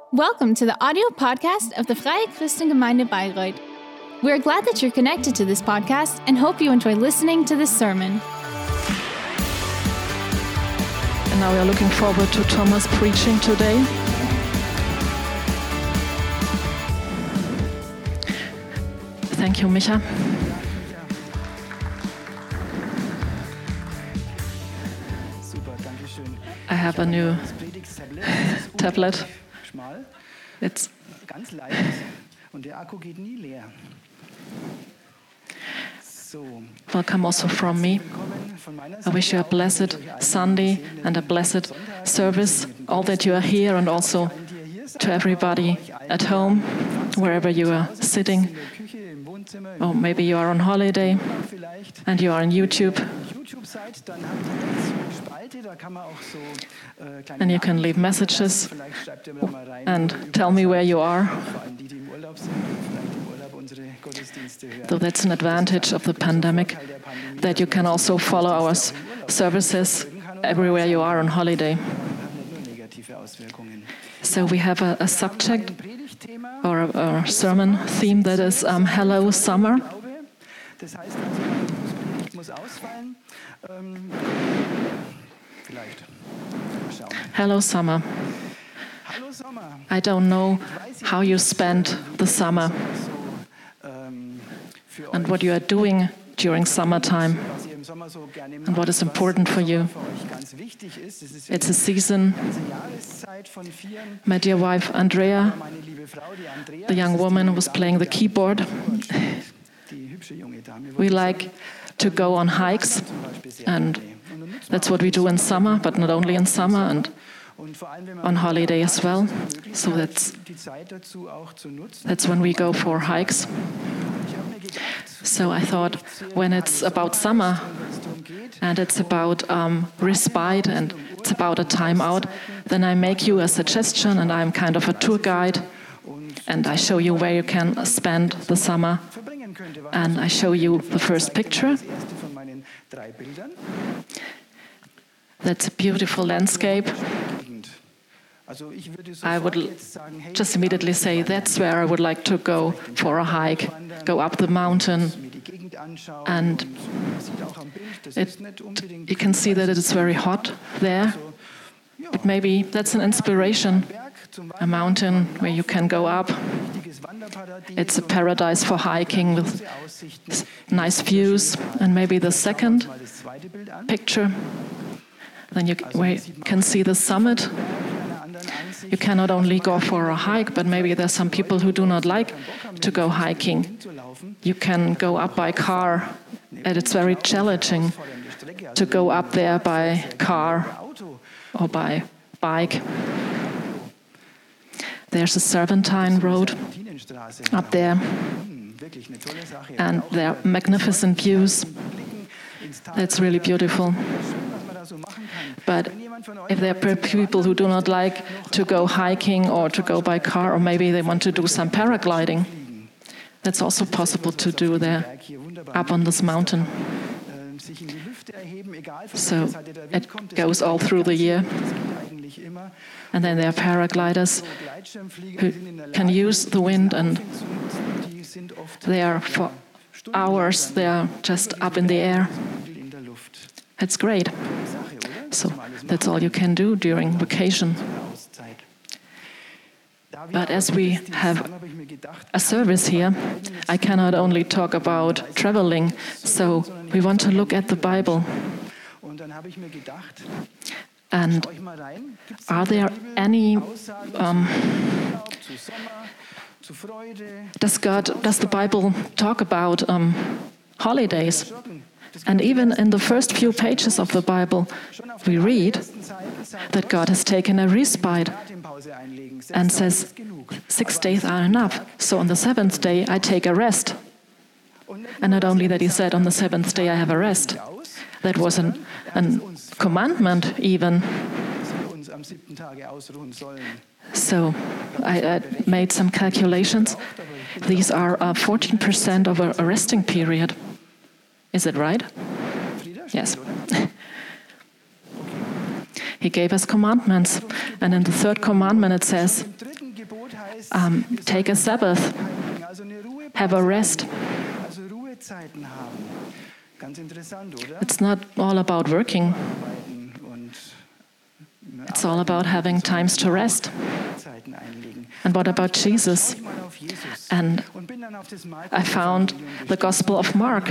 Welcome to the audio podcast of the Freie Christengemeinde Bayreuth. We're glad that you're connected to this podcast and hope you enjoy listening to this sermon. And now we are looking forward to Thomas preaching today. Thank you, Micha. I have a new tablet. It's ganz leicht und der Akku geht nie leer. Welcome also from me. I wish you a blessed Sunday and a blessed service, all that you are here, and also to everybody at home, wherever you are sitting. Or maybe you are on holiday and you are on YouTube. And you can leave messages and tell me where you are. So that's an advantage of the pandemic, that you can also follow our services everywhere you are on holiday. So we have a subject or a sermon theme that is Hello Summer. Hello Summer. I don't know how you spend the summer and what you are doing during summertime and what is important for you. It's a season. My dear wife Andrea, the young woman who was playing the keyboard, we like to go on hikes, and that's what we do in summer, but not only in summer, and on holiday as well. So that's when we go for hikes. So I thought, when it's about summer and it's about respite and it's about a time out, then I make you a suggestion, and I'm kind of a tour guide, and I show you where you can spend the summer. And I show you the first picture. That's a beautiful landscape. I would just immediately say that's where I would like to go for a hike, go up the mountain. And you can see that it is very hot there. But maybe that's an inspiration, a mountain where you can go up. It's a paradise for hiking with nice views. And maybe the second picture, then you can see the summit. You cannot only go for a hike, but maybe there's some people who do not like to go hiking. You can go up by car, and it's very challenging to go up there by car or by bike. There's a serpentine road up there, and there are magnificent views. It's really beautiful. But if there are people who do not like to go hiking or to go by car, or maybe they want to do some paragliding, that's also possible to do there, up on this mountain. So it goes all through the year. And then there are paragliders who can use the wind, and they are for hours, they are just up in the air. It's great. So that's all you can do during vacation. But as we have a service here, I cannot only talk about traveling, so we want to look at the Bible. And are there any does the Bible talk about holidays? And even in the first few pages of the Bible, we read that God has taken a respite and says 6 days are enough. So on the seventh day, I take a rest. And not only that, he said, on the seventh day, I have a rest. That was a commandment even. So I made some calculations. These are 14% of a resting period. Is it right? Yes. He gave us commandments. And in the third commandment it says, take a Sabbath, have a rest. It's not all about working. It's all about having times to rest. And what about Jesus? And I found the Gospel of Mark.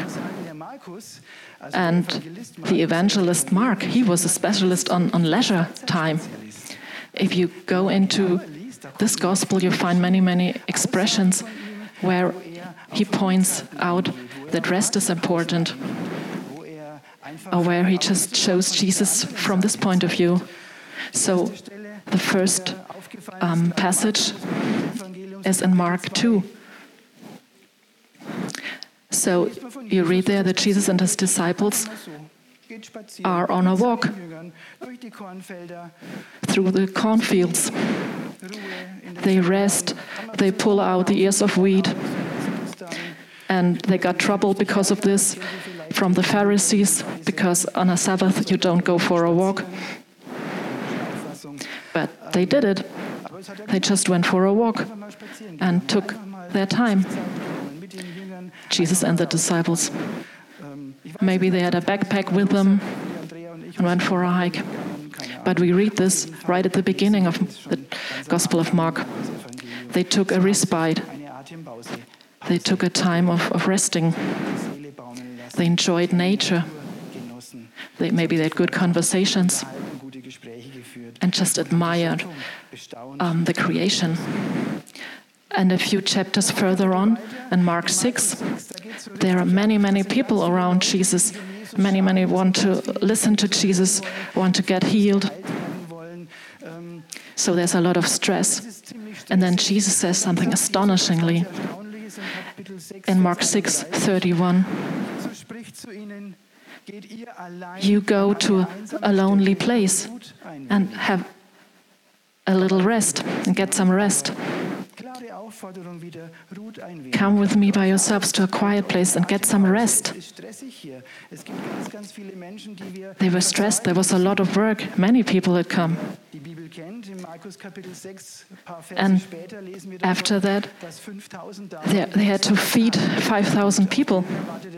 And the evangelist Mark, he was a specialist on leisure time. If you go into this Gospel, you find many, many expressions where he points out that rest is important, or where he just shows Jesus from this point of view. So the first passage is in Mark 2. So you read there that Jesus and his disciples are on a walk through the cornfields. They rest, they pull out the ears of wheat, and they got trouble because of this from the Pharisees, because on a Sabbath you don't go for a walk. But they did it. They just went for a walk and took their time. Jesus and the disciples. Maybe they had a backpack with them and went for a hike. But we read this right at the beginning of the Gospel of Mark. They took a respite. They took a time of resting. They enjoyed nature. Maybe they had good conversations and just admired the creation. And a few chapters further on, in Mark 6, there are many, many people around Jesus. Many, many want to listen to Jesus, want to get healed. So there's a lot of stress. And then Jesus says something astonishingly. In Mark 6:31, you go to a lonely place and have a little rest and get some rest. Come with me by yourselves to a quiet place and get some rest. They were stressed. There was a lot of work. Many people had come. And after that, they had to feed 5,000 people.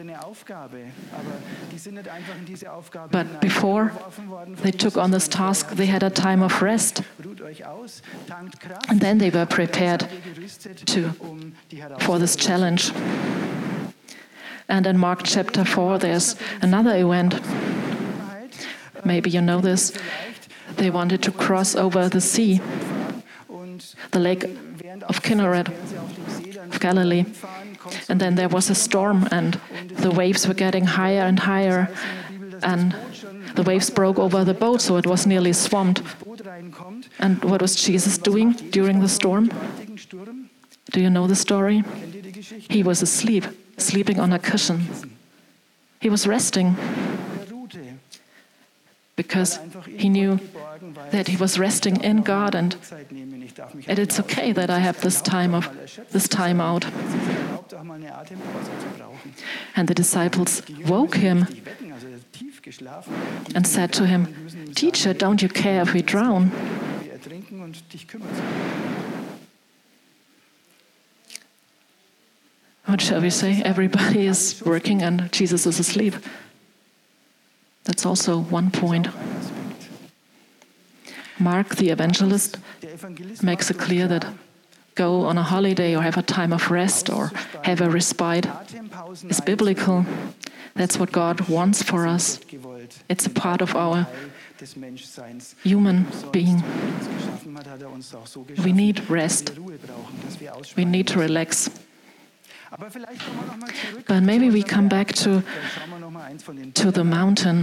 But before they took on this task, they had a time of rest. And then they were prepared for this challenge. And in Mark chapter 4, there's another event. Maybe you know this. They wanted to cross over the sea, the lake of Kinneret, of Galilee. And then there was a storm, and the waves were getting higher and higher, and the waves broke over the boat, so it was nearly swamped. And what was Jesus doing during the storm? Do you know the story? He was asleep, sleeping on a cushion. He was resting because he knew that he was resting in God, and it's okay that I have this time out. And the disciples woke him and said to him, "Teacher, don't you care if we drown?" What shall we say? Everybody is working and Jesus is asleep. That's also one point. Mark, the evangelist, makes it clear that go on a holiday or have a time of rest or have a respite is biblical. That's what God wants for us. It's a part of our human being. We need rest. We need to relax. But maybe we come back to the mountain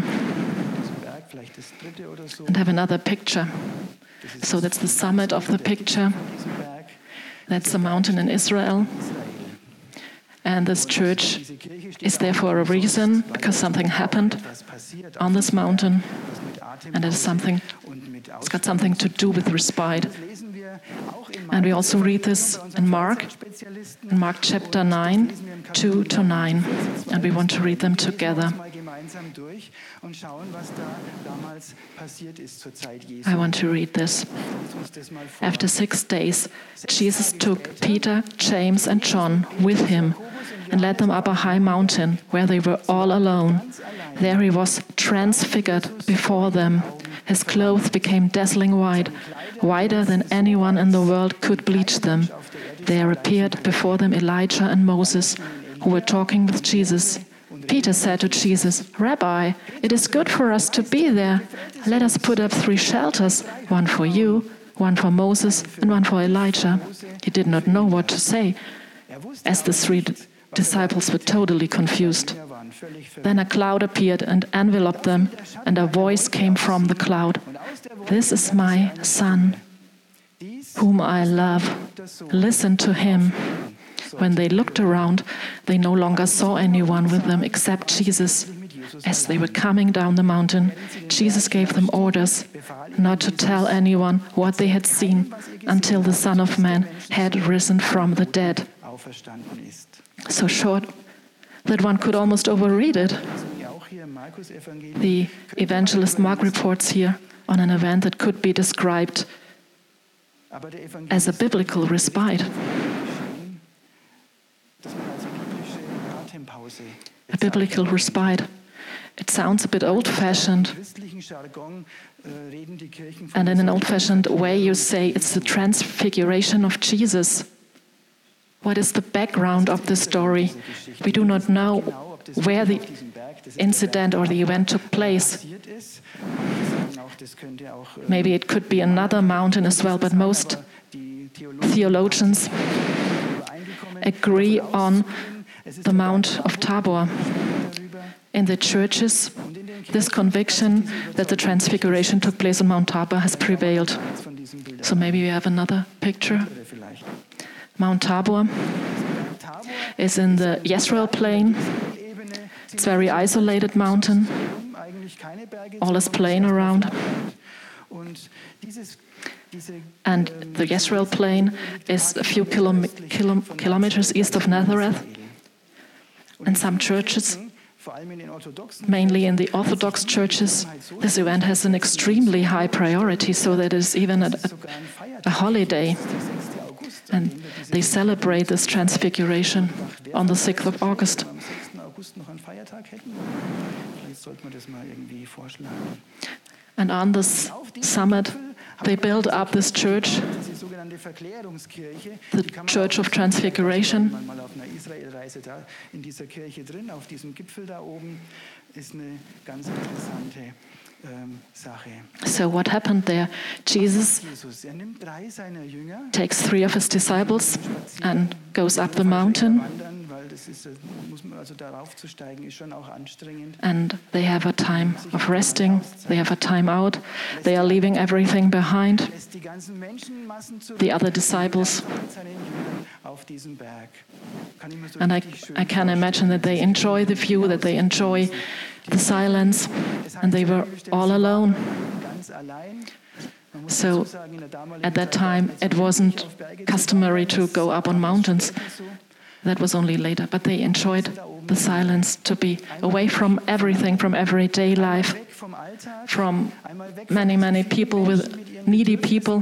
and have another picture. So that's the summit of the picture. That's a mountain in Israel. And this church is there for a reason, because something happened on this mountain. And it's got something to do with respite. And we also read this in Mark chapter 9, 2-9. And we want to read them together. gemeinsam durch und schauen, was da damals passiert ist zur Zeit Jesu. I want to read this. Lies uns das mal vor. After 6 days, Jesus took Peter, James, and John with him and led them up a high mountain where they were all alone. There he was transfigured before them. His clothes became dazzling white, whiter than anyone in the world could bleach them. There appeared before them Elijah and Moses, who were talking with Jesus. Peter said to Jesus, "Rabbi, it is good for us to be there. Let us put up 3 shelters, one for you, one for Moses, and one for Elijah." He did not know what to say, as the 3 disciples were totally confused. Then a cloud appeared and enveloped them, and a voice came from the cloud, "This is my Son, whom I love. Listen to him." When they looked around, they no longer saw anyone with them except Jesus. As they were coming down the mountain, Jesus gave them orders not to tell anyone what they had seen until the Son of Man had risen from the dead. So short that one could almost overread it. The evangelist Mark reports here on an event that could be described as a biblical respite. A biblical respite. It sounds a bit old-fashioned. And in an old-fashioned way, you say it's the transfiguration of Jesus. What is the background of the story? We do not know where the incident or the event took place. Maybe it could be another mountain as well, but most theologians agree on the Mount of Tabor. In the churches, this conviction that the transfiguration took place on Mount Tabor has prevailed. So maybe we have another picture. Mount Tabor is in the Jezreel plain. It's a very isolated mountain. All is plain around. And the Jezreel plain is a few kilometers east of Nazareth. And some churches, mainly in the Orthodox churches, this event has an extremely high priority, so that it is even a holiday. And they celebrate this transfiguration on the 6th of August. And on this summit, they build up this church, the Church of Transfiguration. So what happened there? Jesus takes 3 of his disciples and goes up the mountain. And they have a time of resting, they have a time out, they are leaving everything behind. The other disciples. And I can imagine that they enjoy the view, that they enjoy the silence, and they were all alone. So at that time, it wasn't customary to go up on mountains. That was only later, but they enjoyed the silence, to be away from everything, from everyday life, from many, many people, with needy people.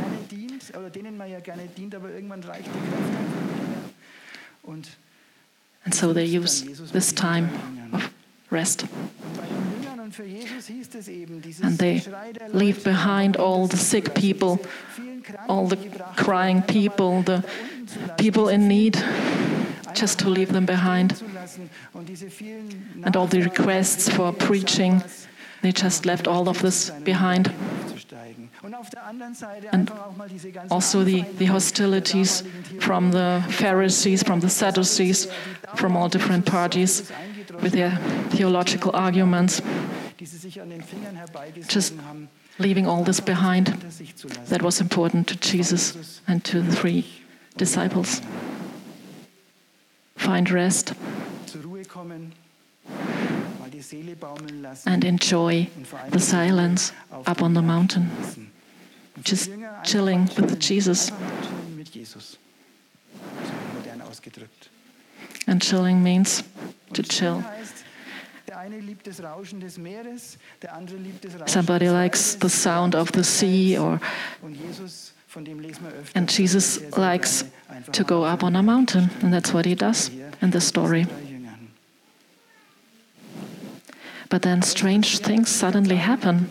And so they use this time of rest. And they leave behind all the sick people, all the crying people, the people in need, just to leave them behind. And all the requests for preaching, they just left all of this behind. And also the hostilities from the Pharisees, from the Sadducees, from all different parties with their theological arguments, just leaving all this behind. That was important to Jesus and to the 3 disciples. Find rest and enjoy the silence up on the mountain. Just chilling with Jesus. And chilling means to chill. Somebody likes the sound of the sea, and Jesus likes to go up on a mountain, and that's what he does in the story. But then strange things suddenly happen,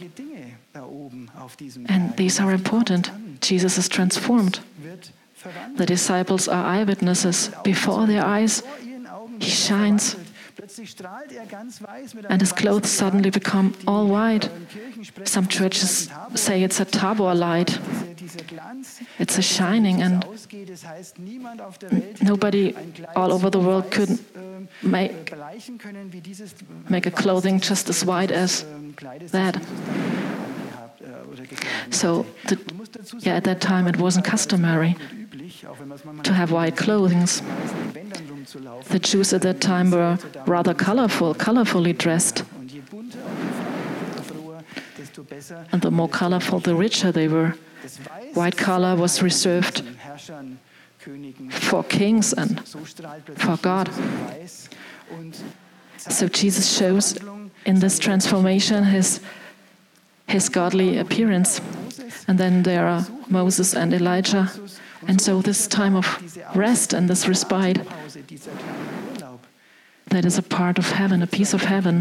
and these are important. Jesus is transformed. The disciples are eyewitnesses. Before their eyes, he shines, and his clothes suddenly become all white. Some churches say it's a Tabor light. It's a shining, and nobody all over the world could make a clothing just as white as that. So, at that time it wasn't customary to have white clothing. The Jews at that time were rather colorfully dressed. And the more colorful, the richer they were. White color was reserved for kings and for God. So Jesus shows in this transformation his godly appearance. And then there are Moses and Elijah. And so this time of rest and this respite, that is a part of heaven, a piece of heaven.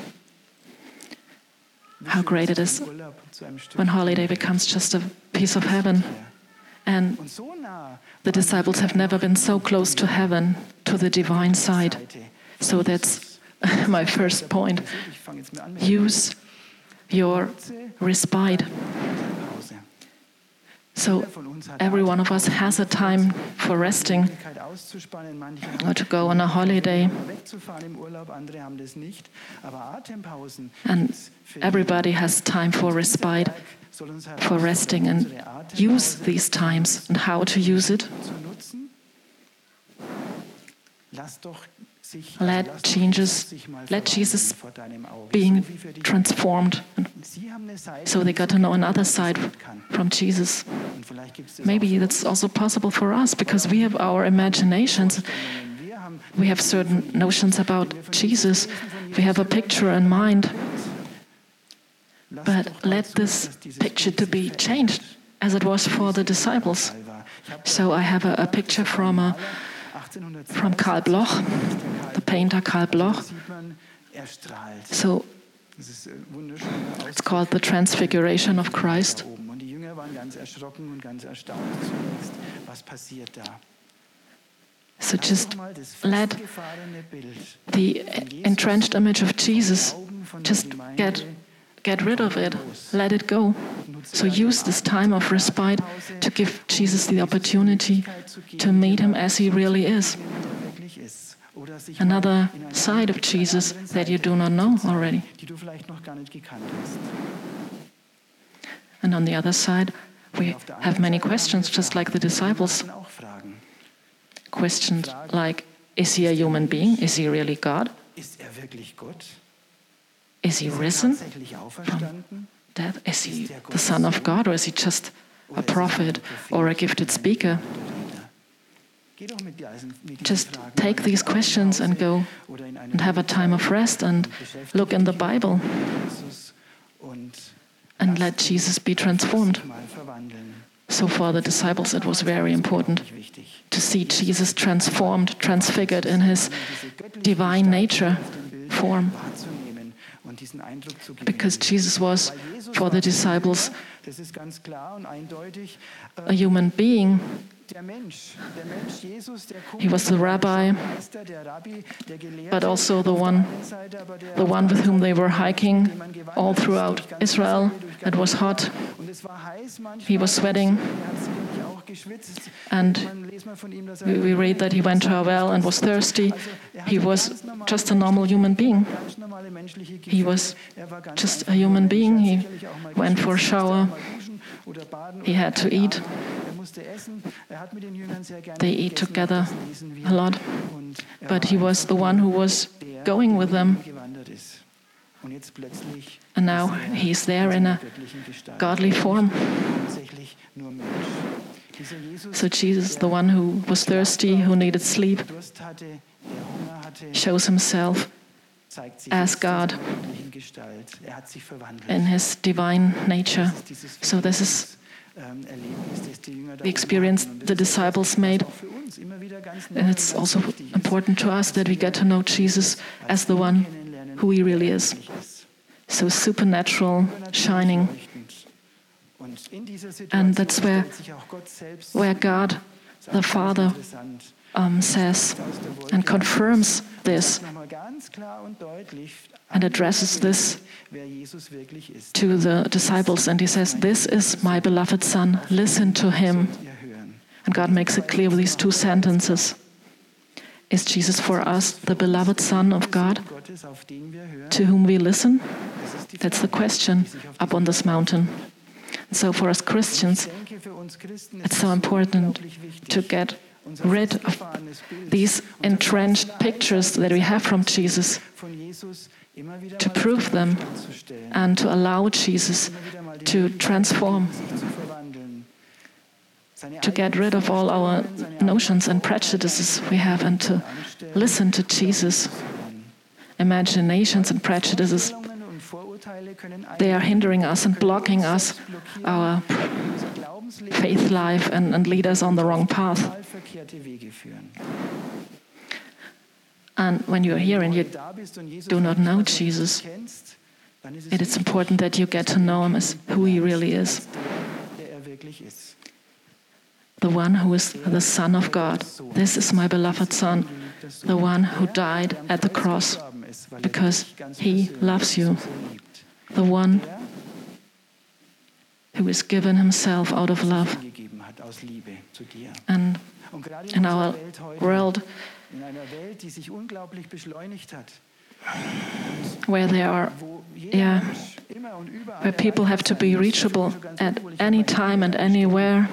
How great it is when holiday becomes just a piece of heaven. And the disciples have never been so close to heaven, to the divine side. So that's my first point. Use your respite. So every one of us has a time for resting or to go on a holiday. And everybody has time for respite, for resting, and use these times. And how to use it? Let Jesus being transformed. So they got to know another side from Jesus. Maybe that's also possible for us because we have our imaginations. We have certain notions about Jesus. We have a picture in mind. But let this picture to be changed as it was for the disciples. So I have a picture from Karl Bloch, the painter Karl Bloch. So it's called The Transfiguration of Christ. So just let the entrenched image of Jesus, just get rid of it, let it go. So use this time of respite to give Jesus the opportunity to meet him as he really is. Another side of Jesus that you do not know already. And on the other side, we have many questions, just like the disciples. Questions like, is he a human being? Is he really God? Is he risen from death? Is he the Son of God, or is he just a prophet or a gifted speaker? Just take these questions and go and have a time of rest and look in the Bible and let Jesus be transformed. So for the disciples, it was very important to see Jesus transformed, transfigured in his divine nature form. Because Jesus was, for the disciples, a human being. He was the rabbi, but also the one with whom they were hiking all throughout Israel. It was hot. He was sweating. And we read that he went to a well and was thirsty. He was just a normal human being. He was just a human being. He went for a shower. He had to eat. They eat together a lot. But he was the one who was going with them. And now he's there in a godly form. So Jesus, the one who was thirsty, who needed sleep, shows himself as God in Gestalt. Hat sich verwandelt. in his divine nature. So this is Erlebnis, das die Jünger da the experience the disciples made. auch für uns immer wieder ganz And it's also important to us that we get to know Jesus as the one who he really is. So supernatural, shining. Und in dieser And Situation that's where stellt sich auch Gott selbst God, the Father, interessant says and confirms this nochmal ganz klar und deutlich and addresses this wer Jesus wirklich ist. to the disciples. And he says, "This is my beloved Son, listen to him." Ihr hören. And God makes it clear with these two sentences. Is Jesus for us the beloved Son of God, Gottes, auf den wir hören, to whom we listen? That's the question up on this mountain. So for us Christians, ich denke, für uns Christen it's so important to get rid of these entrenched pictures that we have from Jesus, von Jesus immer wieder to mal prove them zu stellen, and to allow Jesus wieder mal die to transform, sich zu verwandeln. Seine to get rid of all our notions and prejudices we have and to listen to Jesus. Imaginations and prejudices, Einstellungen und Vorurteile können they are hindering us and blocking us, our unser Glaubensleben faith life, and lead us on the wrong path. total verkehrte Wege führen. And when you're here and you Da bist und Jesus do not know Jesus, kennst, dann ist it is important that you get to know him as who he really is, der wirklich ist. the one who is the Son of God. This is my beloved Son, the one who died at the cross because he loves you, the one who has given himself out of love. Gegeben hat aus Liebe zu dir. And Und gerade in our Welt heute, world in einer Welt, die sich unglaublich beschleunigt hat, where there are, wo jeder yeah, Mensch immer und überall where people have to be erreichbar sein muss, reachable so ganz at obwohl ich any dabei time and bin, anywhere,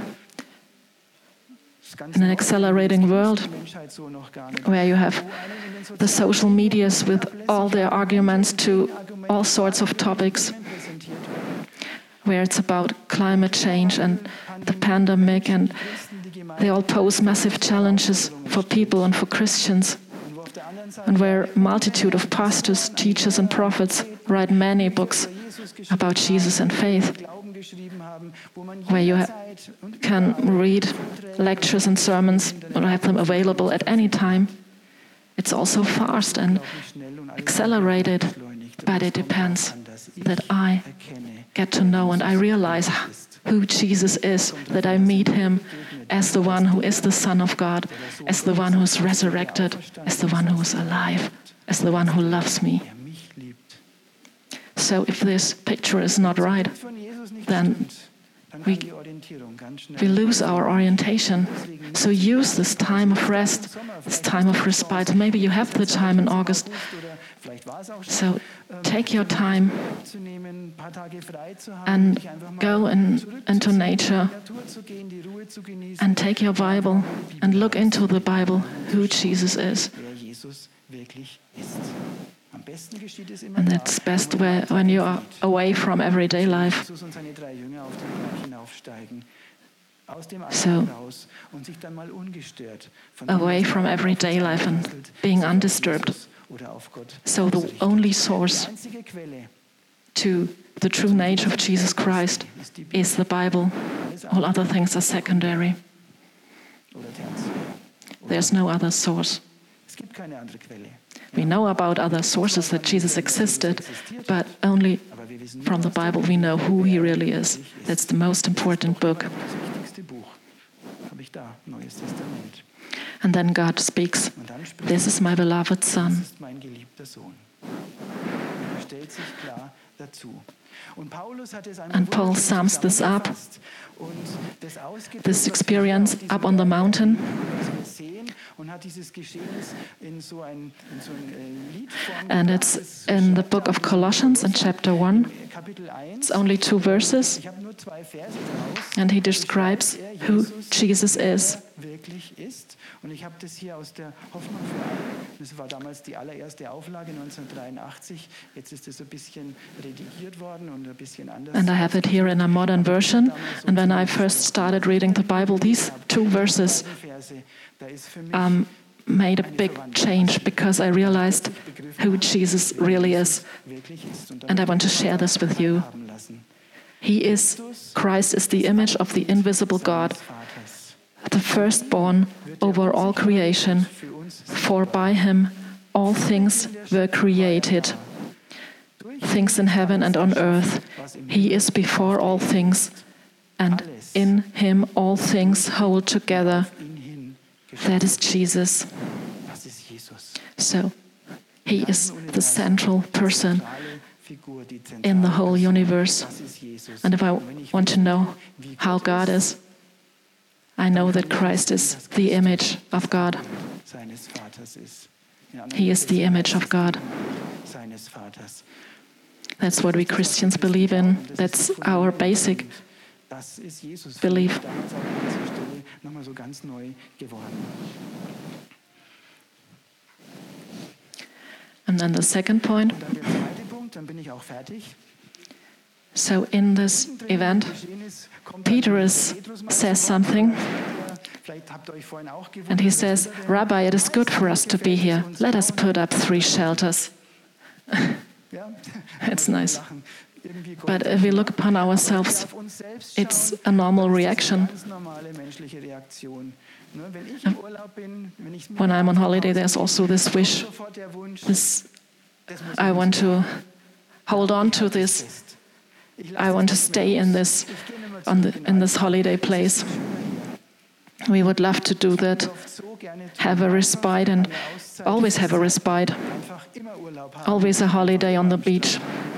ist ganz in an neu, accelerating das world, kennt die Menschheit so noch gar nicht. where you have Wo einen in den the sozialen social medias with all their arguments to all sorts of topics, Medien präsentiert werden. where it's about climate change and the pandemic, and they all pose massive challenges for people and for Christians, Und wo auf der anderen Seite and where a multitude of pastors, teachers and prophets write many books about Jesus and faith, Glauben geschrieben haben, wo man where you jederzeit und can read lectures and sermons or have them available at any time. It's all so fast and schnell und accelerated, beschleunigt. but it depends Dass ich that I erkenne, get to know and I realize who Jesus is, that I meet him as the one who is the Son of God, as the one who is resurrected, as the one who is alive, as the one who loves me. er mich liebt. So if this picture is not right, Von Jesus nicht then stimmt, dann we- kann die Orientierung ganz schnell. we lose our orientation. So use this time of rest, this time of respite. Maybe you have the time in August. Oder vielleicht war es auch schon, So take your time zu nehmen, ein paar Tage frei zu haben, and dich einfach mal go into nature zur Natur zu gehen, die Ruhe zu genießen, and take your Bible and look into the Bible who Jesus is. wer Jesus wirklich ist. Am besten geschieht es immer And da, that's best when you are away from everyday life. Jesus und seine 3 Jünger auf den Berg hinaufsteigen, aus dem So, Alltag raus und sich dann mal ungestört von away dem, was from da everyday auf uns life and einprasselt, being sich auf undisturbed. Jesus oder auf Gott So the ausrichten. only source Die einzige Quelle to the true nature of Jesus Christ is the Bible. All other things are secondary. oder tertiär. There's no other source. Es gibt keine andere Quelle. We know about other sources that Jesus existed, but only Aber wir wissen from the Bible we know who he really is. That's the most important book. das wichtigste Buch. Habe ich da, Neues Testament. And then God speaks, Und dann spricht "This is my beloved das Son." ist mein geliebter Sohn. Er stellt sich klar dazu. Und Paulus hat es einmal And Paul wunderschön sums this up, zusammengefasst und das ausgedrückt, this was wir experience auf diesem up on the Berg mountain, was wir sehen, und hat dieses Geschehnis in so ein Liedform and gebracht. it's Es in the schreibt book da of Colossians in chapter 1. Kapitel 1. It's only 2 verses, Ich habe nur 2 Verse draus. and he describes who Jesus is. Wirklich ist. Und ich habe das hier aus der Hoffnung für alle. Das war damals die allererste Auflage 1983. Jetzt ist es ein bisschen redigiert worden und ein bisschen anders. And I have it here in a modern version. And when I first started reading the Bible, these 2 verses Verse, da ist für mich made a big change because I realized who Jesus really is. And I want to share this with you. Christ is the image of the invisible God, the firstborn over all creation, for by him all things were created, things in heaven and on earth. He is before all things, and in him all things hold together. That is Jesus. So, he is the central person in the whole universe. And if I want to know how God is, I know that Christ is the image of God. He is the image of God. That's what we Christians believe in. That's our basic belief. And then the second point. So in this event, Peter says something, and he says, "Rabbi, it is good for us to be here. Let us put up 3 shelters." It's nice. But if we look upon ourselves, it's a normal reaction. When I'm on holiday, there's also this wish. I want to hold on to this. I want to stay in this holiday place. We would love to do that, have a respite, and always have a respite. Always a holiday on the beach.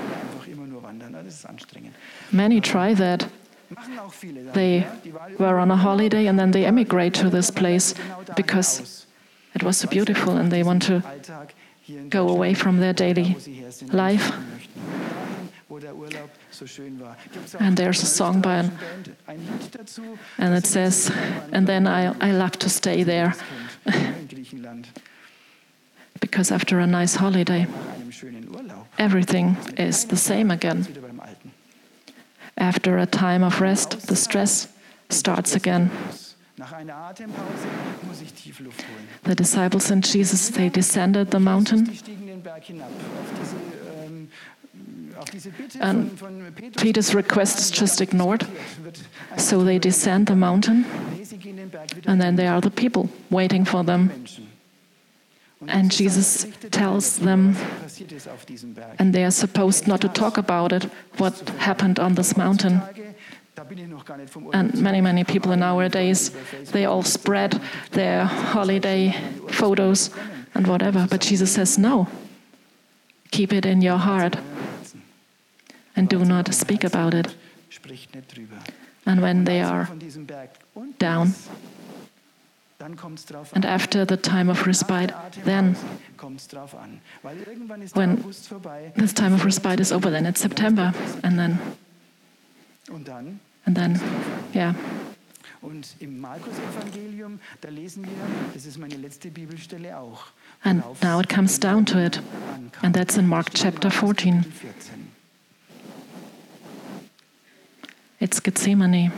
Many try that. They were on a holiday and then they emigrate to this place because it was so beautiful and they want to go away from their daily life. And there's a song by and it says, "And then I love to stay there." Because after a nice holiday, everything is the same again. After a time of rest, the stress starts again. The disciples and Jesus, they descended the mountain. And Peter's request is just ignored. So they descend the mountain, and then there are the people waiting for them. And Jesus tells them, and they are supposed not to talk about it, what happened on this mountain. And many people in our days, they all spread their holiday photos and whatever. But Jesus says, no, keep it in your heart and do not speak about it. And when they are down, and after the time of respite, then when this time of respite is over, then it's September, and then, yeah. And now it comes down to it, and that's in Mark chapter 14. It's Gethsemane.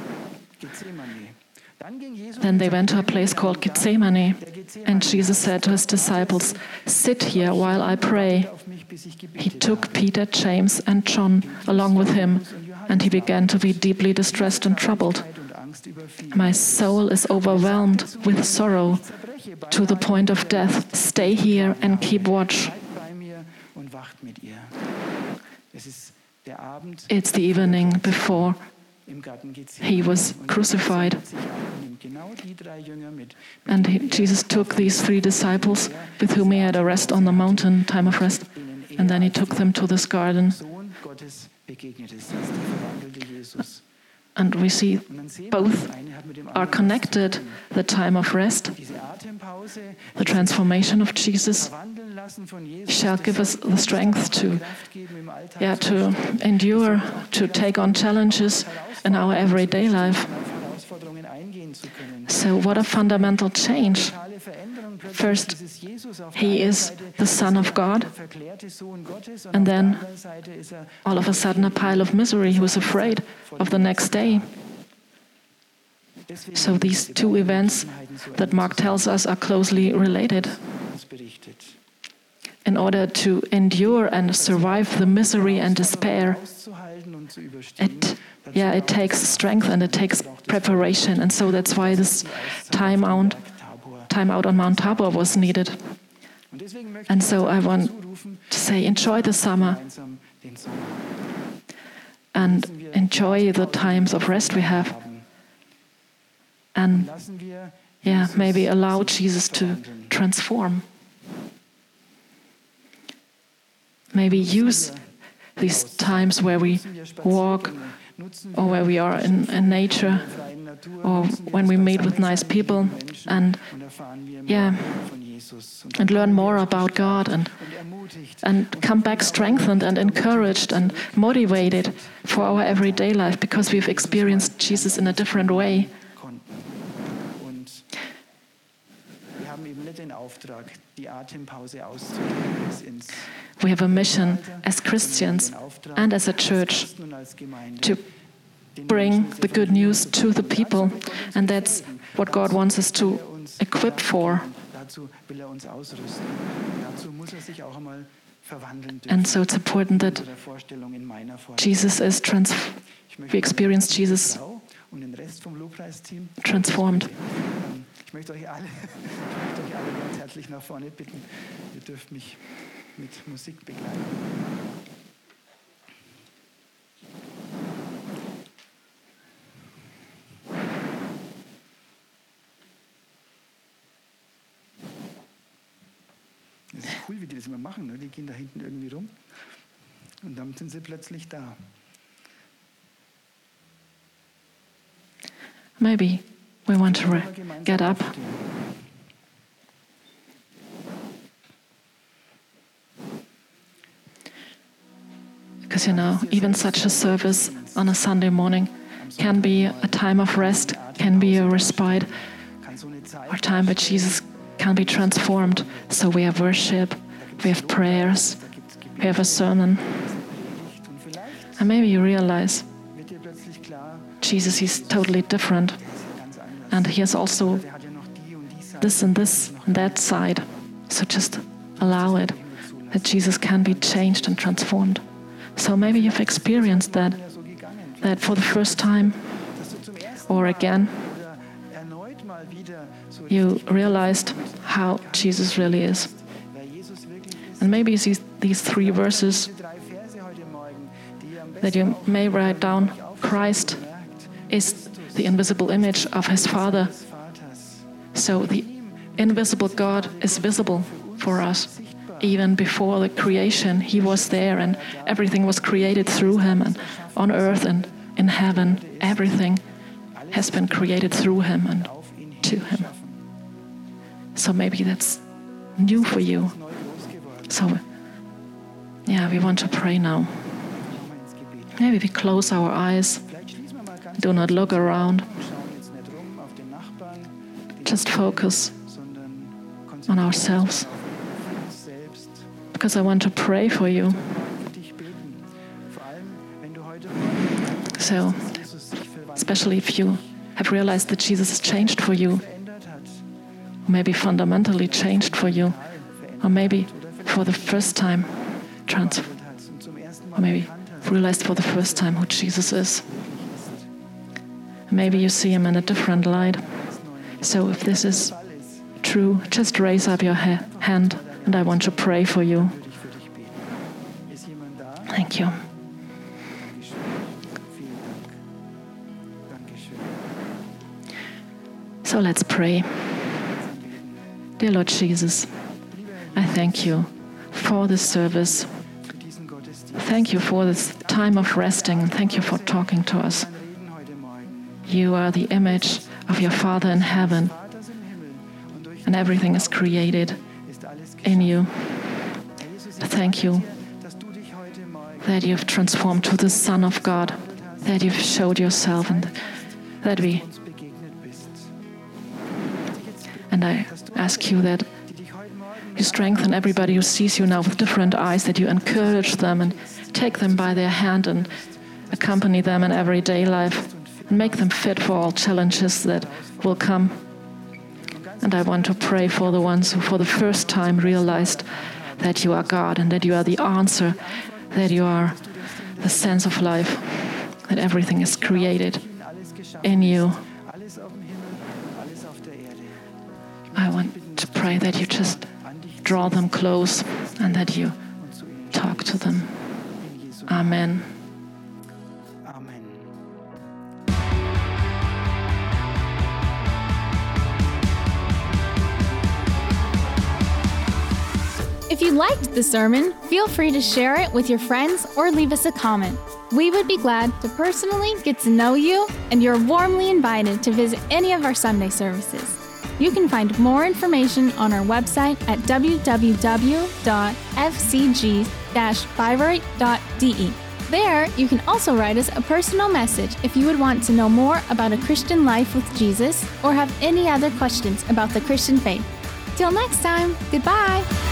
Then they went to a place called Gethsemane, and Jesus said to his disciples, "Sit here while I pray." He took Peter, James, and John along with him, and he began to be deeply distressed and troubled. "My soul is overwhelmed with sorrow to the point of death. Stay here and keep watch." It's the evening before he was crucified. And Jesus took these 3 disciples with whom he had a rest on the mountain, time of rest, and then he took them to this garden. And we see both are connected, the time of rest, the transformation of Jesus, shall give us the strength to endure, to take on challenges in our everyday life. So what a fundamental change. First, he is the Son of God, and then all of a sudden a pile of misery. He was afraid of the next day. So these two events that Mark tells us are closely related. In order to endure and survive the misery and despair, it takes strength and it takes preparation. And so that's why this time out on Mount Tabor was needed. And so I want to say, enjoy the summer and enjoy the times of rest we have. And maybe allow Jesus to transform. Maybe use these times where we walk or where we are in nature or when we meet with nice people and learn more about God and come back strengthened and encouraged and motivated for our everyday life because we've experienced Jesus in a different way. We have a mission as Christians and as a church to bring the good news to the people, and that's what God wants us to equip for. And so it's important that we experience Jesus transformed. Ich möchte euch alle ganz herzlich nach vorne bitten. Ihr dürft mich mit Musik begleiten. Es ist cool, wie die das immer machen. Ne? Die gehen da hinten irgendwie rum und dann sind sie plötzlich da. Maybe we want to get up. Because even such a service on a Sunday morning can be a time of rest, can be a respite, or a time where Jesus can be transformed. So we have worship, we have prayers, we have a sermon. And maybe you realize Jesus, he's totally different. And he has also this and that side. So just allow it, that Jesus can be changed and transformed. So maybe you've experienced that for the first time or again, you realized how Jesus really is. And maybe you see these 3 verses that you may write down. Christ is the invisible image of his Father. So the invisible God is visible for us. Even before the creation, he was there and everything was created through him. And on earth and in heaven, everything has been created through him and to him. So maybe that's new for you. So, we want to pray now. Maybe we close our eyes. Do not look around. Just focus on ourselves. Because I want to pray for you. So, especially if you have realized that Jesus has changed for you, or maybe fundamentally changed for you, or maybe for the first time, or maybe realized for the first time who Jesus is. Maybe you see him in a different light. So if this is true, just raise up your hand and I want to pray for you. Thank you. So let's pray. Dear Lord Jesus, I thank you for this service. Thank you for this time of resting. Thank you for talking to us. You are the image of your Father in heaven, and everything is created in you. Thank you that you've transformed to the Son of God, that you've showed yourself, and that and I ask you that you strengthen everybody who sees you now with different eyes, that you encourage them and take them by their hand and accompany them in everyday life, and make them fit for all challenges that will come. And I want to pray for the ones who for the first time realized that you are God and that you are the answer, that you are the sense of life, that everything is created in you. I want to pray that you just draw them close and that you talk to them. Amen. Amen. If you liked the sermon, feel free to share it with your friends or leave us a comment. We would be glad to personally get to know you, and you're warmly invited to visit any of our Sunday services. You can find more information on our website at www.fcg-bayreuth.de. There, you can also write us a personal message if you would want to know more about a Christian life with Jesus or have any other questions about the Christian faith. Till next time, goodbye!